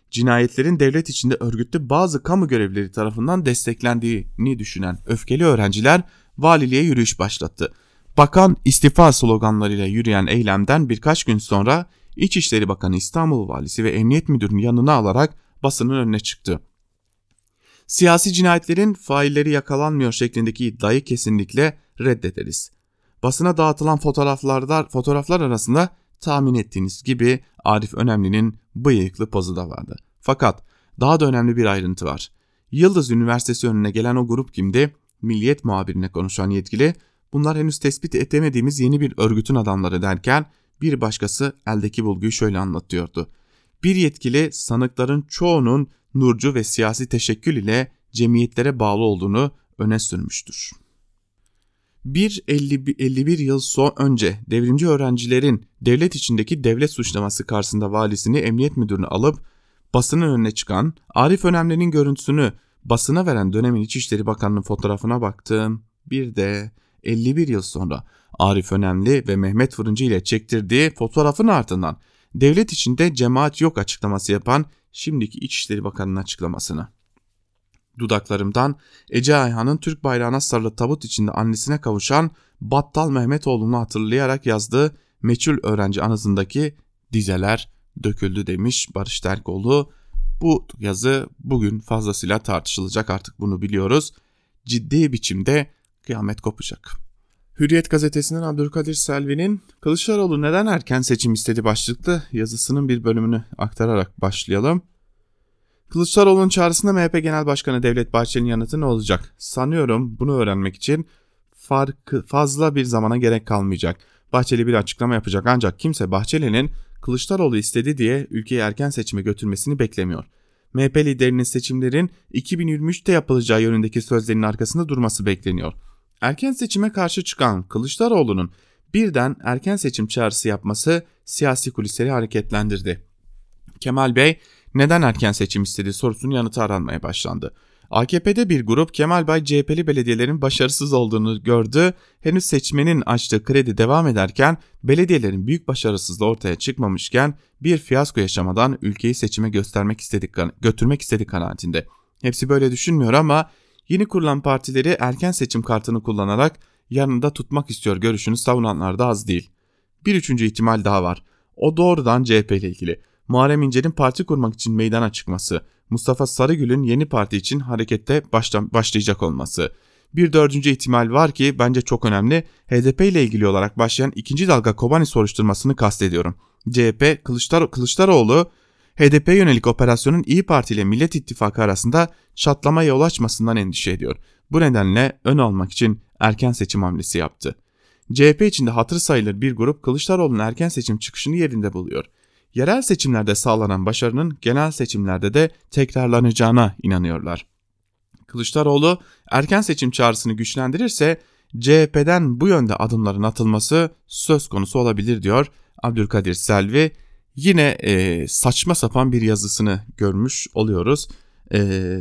cinayetlerin devlet içinde örgütlü bazı kamu görevlileri tarafından desteklendiğini düşünen öfkeli öğrenciler valiliğe yürüyüş başlattı. Bakan istifa sloganlarıyla yürüyen eylemden birkaç gün sonra İçişleri Bakanı, İstanbul Valisi ve Emniyet Müdürü'nü yanına alarak basının önüne çıktı. Siyasi cinayetlerin failleri yakalanmıyor şeklindeki iddiayı kesinlikle reddederiz. Basına dağıtılan fotoğraflarda, fotoğraflar arasında tahmin ettiğiniz gibi Arif Önemli'nin bıyıklı pozu da vardı. Fakat daha da önemli bir ayrıntı var. Yıldız Üniversitesi önüne gelen o grup kimdi? Milliyet muhabirine konuşan yetkili, bunlar henüz tespit edemediğimiz yeni bir örgütün adamları derken bir başkası eldeki bulguyu şöyle anlatıyordu. Bir yetkili sanıkların çoğunun nurcu ve siyasi teşekkül ile cemiyetlere bağlı olduğunu öne sürmüştür. Bir elli bir yıl son önce devrimci öğrencilerin devlet içindeki devlet suçlaması karşısında valisini, emniyet müdürünü alıp basının önüne çıkan Arif Önemli'nin görüntüsünü basına veren dönemin İçişleri Bakanı'nın fotoğrafına baktım. Bir de elli bir yıl sonra Arif Önemli ve Mehmet Fırıncı ile çektirdiği fotoğrafın ardından devlet içinde cemaat yok açıklaması yapan şimdiki İçişleri Bakanı'nın açıklamasını. Dudaklarımdan Ece Ayhan'ın Türk bayrağına sarılı tabut içinde annesine kavuşan Battal Mehmetoğlu'nu hatırlayarak yazdığı meçhul öğrenci anısındaki dizeler döküldü demiş Barış Terkoğlu. Bu yazı bugün fazlasıyla tartışılacak, artık bunu biliyoruz. Ciddi biçimde kıyamet kopacak. Hürriyet gazetesinden Abdülkadir Selvi'nin Kılıçdaroğlu neden erken seçim istedi başlıklı yazısının bir bölümünü aktararak başlayalım. Kılıçdaroğlu'nun çağrısında M H P Genel Başkanı Devlet Bahçeli'nin yanıtı ne olacak? Sanıyorum bunu öğrenmek için farkı fazla bir zamana gerek kalmayacak. Bahçeli bir açıklama yapacak, ancak kimse Bahçeli'nin Kılıçdaroğlu istedi diye ülkeyi erken seçime götürmesini beklemiyor. M H P liderinin seçimlerin iki bin yirmi üçte yapılacağı yönündeki sözlerinin arkasında durması bekleniyor. Erken seçime karşı çıkan Kılıçdaroğlu'nun birden erken seçim çağrısı yapması siyasi kulisleri hareketlendirdi. Kemal Bey neden erken seçim istedi sorusunun yanıtı aranmaya başlandı. A K P'de bir grup Kemal Bey C H P'li belediyelerin başarısız olduğunu gördü. Henüz seçmenin açtığı kredi devam ederken belediyelerin büyük başarısızlığı ortaya çıkmamışken bir fiyasko yaşamadan ülkeyi seçime göstermek istedik, götürmek istedik kanaatinde. Hepsi böyle düşünmüyor ama yeni kurulan partileri erken seçim kartını kullanarak yanında tutmak istiyor görüşünü savunanlar da az değil. Bir üçüncü ihtimal daha var. O doğrudan C H P ile ilgili. Muharrem İnce'nin parti kurmak için meydana çıkması, Mustafa Sarıgül'ün yeni parti için harekette başla- başlayacak olması. Bir dördüncü ihtimal var ki bence çok önemli. H D P ile ilgili olarak başlayan ikinci dalga Kobani soruşturmasını kastediyorum. C H P, Kılıçdar- Kılıçdaroğlu, H D P'ye yönelik operasyonun İyi Parti ile Millet İttifakı arasında çatlamaya yol açmasından endişe ediyor. Bu nedenle ön almak için erken seçim hamlesi yaptı. C H P içinde hatır sayılır bir grup Kılıçdaroğlu'nun erken seçim çıkışını yerinde buluyor. Yerel seçimlerde sağlanan başarının genel seçimlerde de tekrarlanacağına inanıyorlar. Kılıçdaroğlu erken seçim çağrısını güçlendirirse C H P'den bu yönde adımların atılması söz konusu olabilir diyor Abdülkadir Selvi. Yine e, saçma sapan bir yazısını görmüş oluyoruz. E,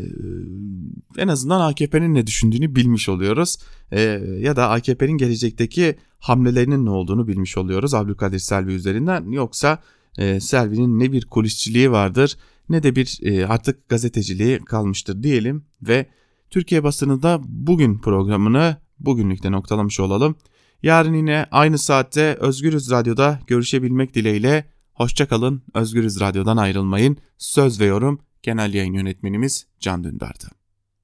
en azından A K P'nin ne düşündüğünü bilmiş oluyoruz. E, ya da A K P'nin gelecekteki hamlelerinin ne olduğunu bilmiş oluyoruz Abdülkadir Selvi üzerinden. Yoksa e, Selvi'nin ne bir kulisçiliği vardır ne de bir e, artık gazeteciliği kalmıştır diyelim ve Türkiye basınında bugün programını bugünlükte noktalamış olalım. Yarın yine aynı saatte Özgürüz Radyo'da görüşebilmek dileğiyle. Hoşça kalın, Özgürüz Radyo'dan ayrılmayın. Söz ve yorum Genel Yayın Yönetmenimiz Can Dündar'dı.